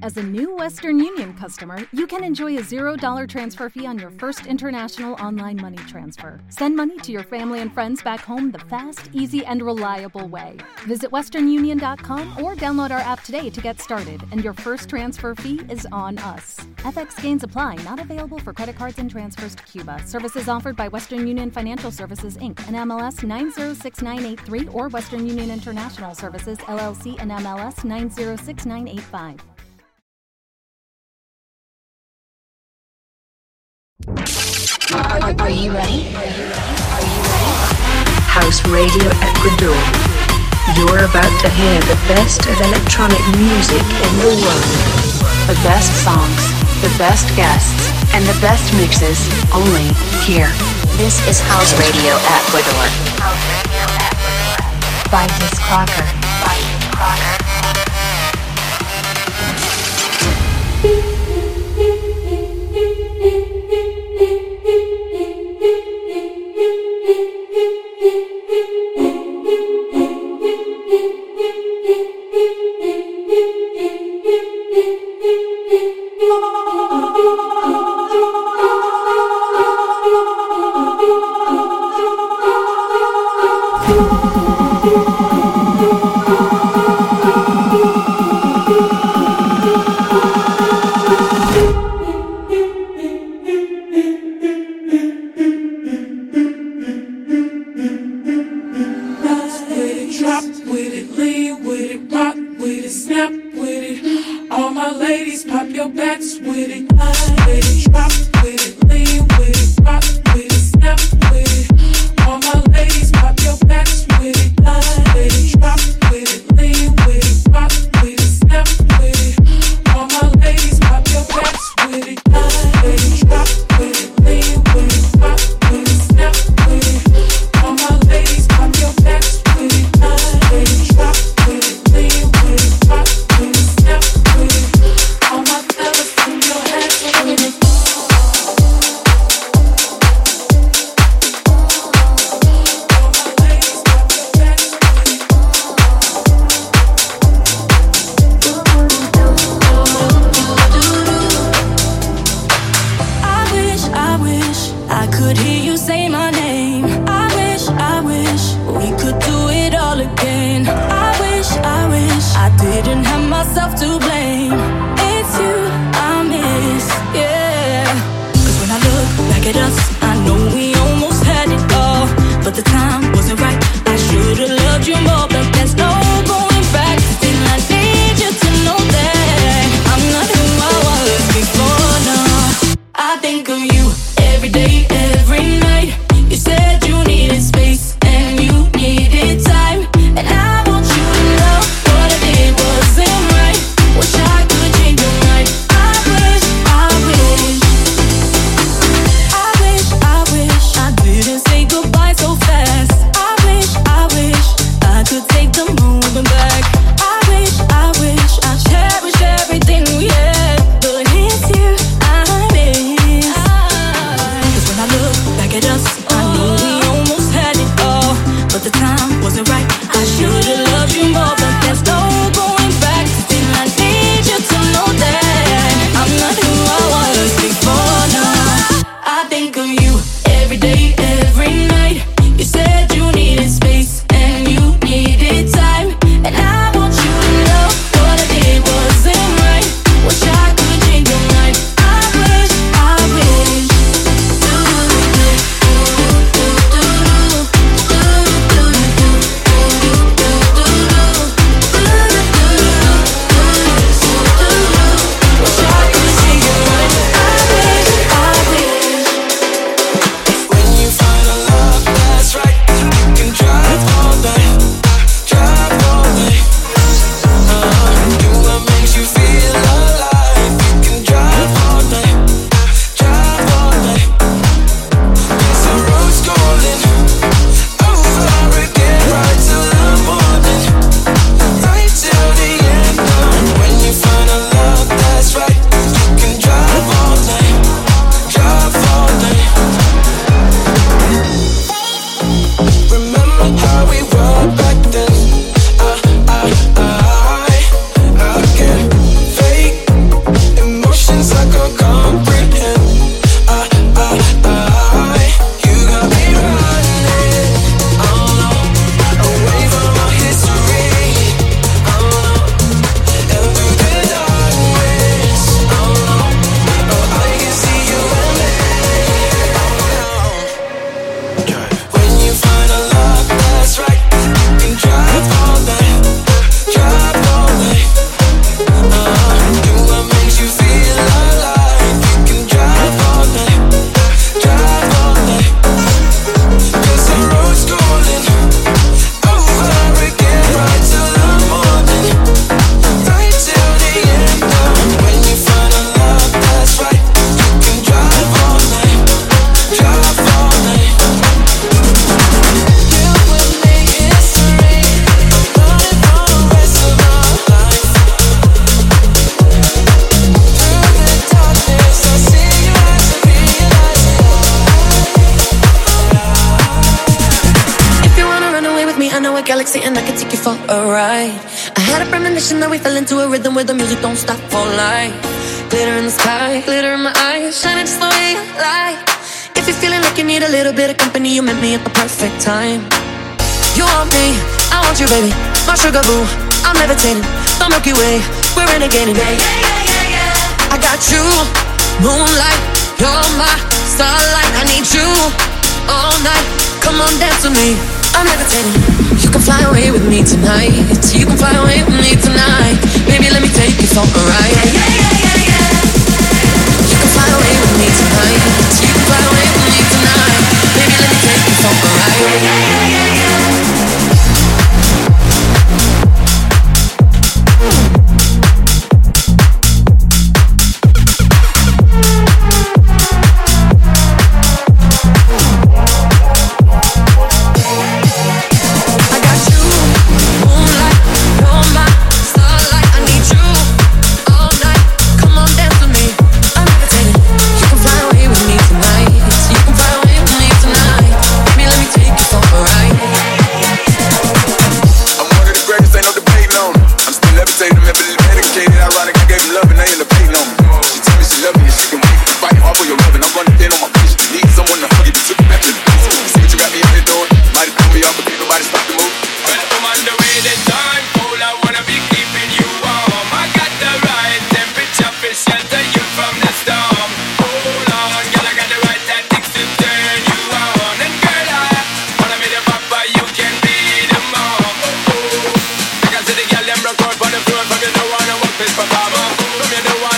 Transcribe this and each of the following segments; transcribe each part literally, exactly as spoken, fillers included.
As a new Western Union customer, you can enjoy a zero dollar transfer fee on your first international online money transfer. Send money to your family and friends back home the fast, easy, and reliable way. Visit western union dot com or download our app today to get started, and your first transfer fee is on us. F X gains apply, not available for credit cards and transfers to Cuba. Services offered by Western Union Financial Services, Incorporated, and M L S nine zero six nine eight three or Western Union International Services, L L C, and M L S nine zero six nine eight five. Are, are, are you ready? Are you ready? Are you ready? House Radio Ecuador. You're about to hear the best of electronic music in the world. The best songs, the best guests, and the best mixes only here. This is House Radio Ecuador. House Radio Ecuador. By Miss Crocker. By Miss Crocker. galaxy and I can take you for a ride. I had a premonition that we fell into a rhythm where the music don't stop for life. Glitter in the sky, glitter in my eyes, shining just the way you like. If you're feeling like you need a little bit of company, you met me at the perfect time. You want me, I want you, baby. My sugar boo, I'm levitating. The Milky Way, we're renegading. Yeah, yeah, yeah, yeah, yeah. I got you, moonlight, you're my starlight. I need you all night. Come on, dance with me. I'm levitating. You can fly away with me tonight. You can fly away with me tonight. Baby, let me take you for a ride. Yeah, yeah, yeah, yeah, yeah. You can fly away with me tonight. You can fly away with me tonight. Baby, let me take you for a ride. Yeah, yeah, yeah, yeah, yeah. Them broke out on the floor, from you don't wanna work this performer. From you don't wanna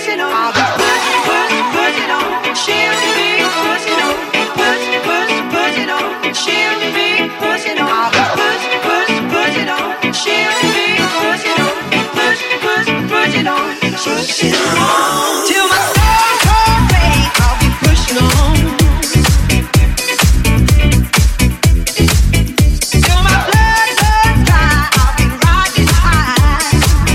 pushing on. I'll be pushing, pushing, pushing on. She'll be pushing on. Pushing, pushing, pushing on. She'll be pushing on. I'll be pushing, pushing, pushing on. She'll be pushing on. Pushing, pushing, pushing on. Pushing on. Till my soul cold break, I'll be pushing on. Till my blood runs dry, I'll be riding high.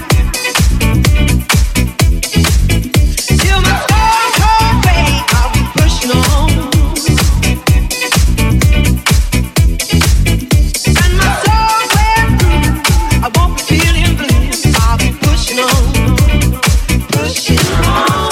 Till my soul cold break, I'll be pushing on. And my soul wears through, I won't be feeling blue. I'll be pushing on, pushing on.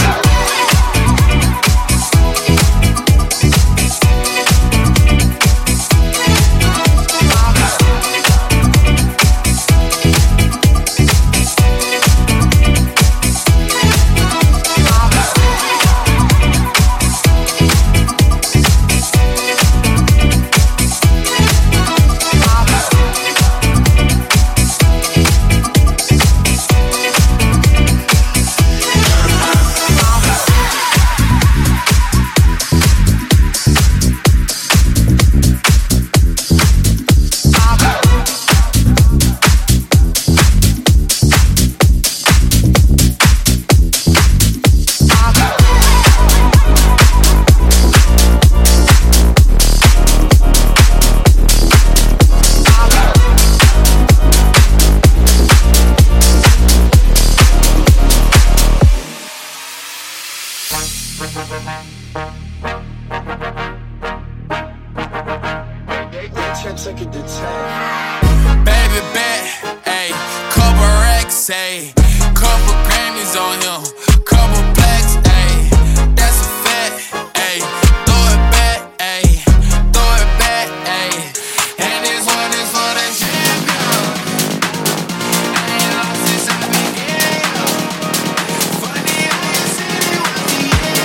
Baby bet, ayy, couple racks, ayy, couple Grammys on him, couple blacks, ayy, that's a fact, ayy, throw it back, ayy, throw it back, ayy, and this one is for the champion. I ain't lost since I began. Funny how you said it was the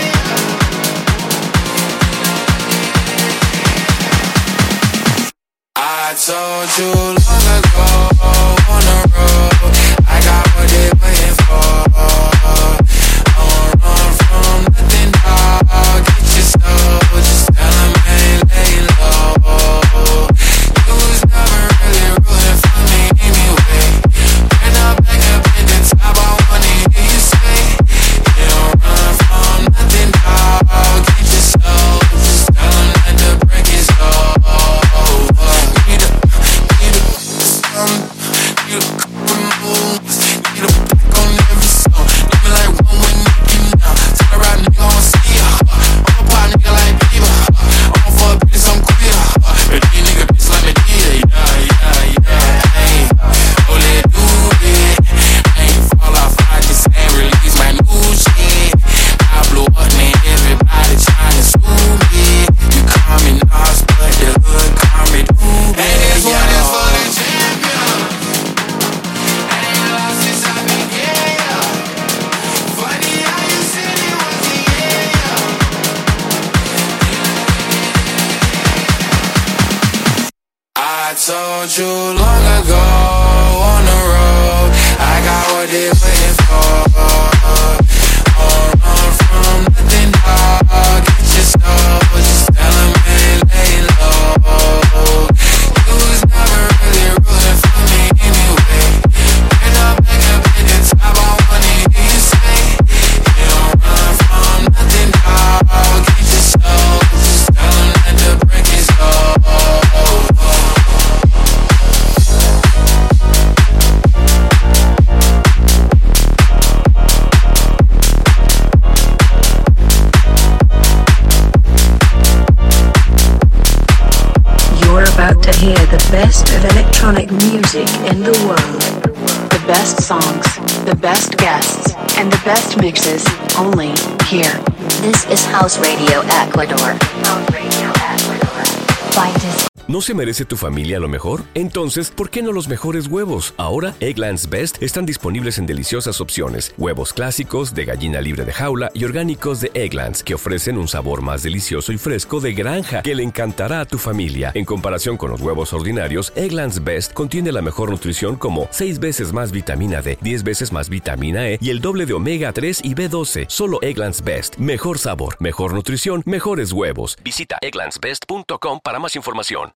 end. I told you long ago on the road, I got what they waiting for. Don't run from nothing, dog. Get your soul, just tell them ain't laying low. You was never really rooting for me anyway. When I'm back up in the top, I wanna hear you say, you don't run from nothing, dog. Get your soul, just tell them that the break is over. Need a, need a, some, need a couple moves, need a back on every song. Need me like one with Nicki now. Tell her right nigga on ski, I'm a pop nigga like Bieber. I'm for a bitch, I'm queer. But these nigga bitch like me, yeah, yeah, yeah, ayy. Oh, let do it. I ain't fall off, I just ain't release my new shit. I blew up, man, everybody tryna sue me. You call me Nas, but the hood call me Doobie. And this one is for the champion. I ain't lost since I began. Funny how you said it was the end. I told you long ago on the road, I got what they waiting for. Don't run from nothing, dog. Get your soul, just tell them ain't laying low. You was never really rooting for me anyway. When I'm back up in the top, I wanna hear you say, you don't run from nothing, dog. Get your soul, just tell them that the break is over. You're about to hear the best of electronic music in the world. The best songs, the best guests, and the best mixes only here. This is House Radio Ecuador. House Radio Ecuador. By Disc. ¿No se merece tu familia lo mejor? Entonces, ¿por qué no los mejores huevos? Ahora, Eggland's Best están disponibles en deliciosas opciones. Huevos clásicos, de gallina libre de jaula y orgánicos de Eggland's, que ofrecen un sabor más delicioso y fresco de granja que le encantará a tu familia. En comparación con los huevos ordinarios, Eggland's Best contiene la mejor nutrición como seis veces más vitamina D, diez veces más vitamina E y el doble de omega tres y B doce. Solo Eggland's Best. Mejor sabor, mejor nutrición, mejores huevos. Visita egglands best punto com para más información.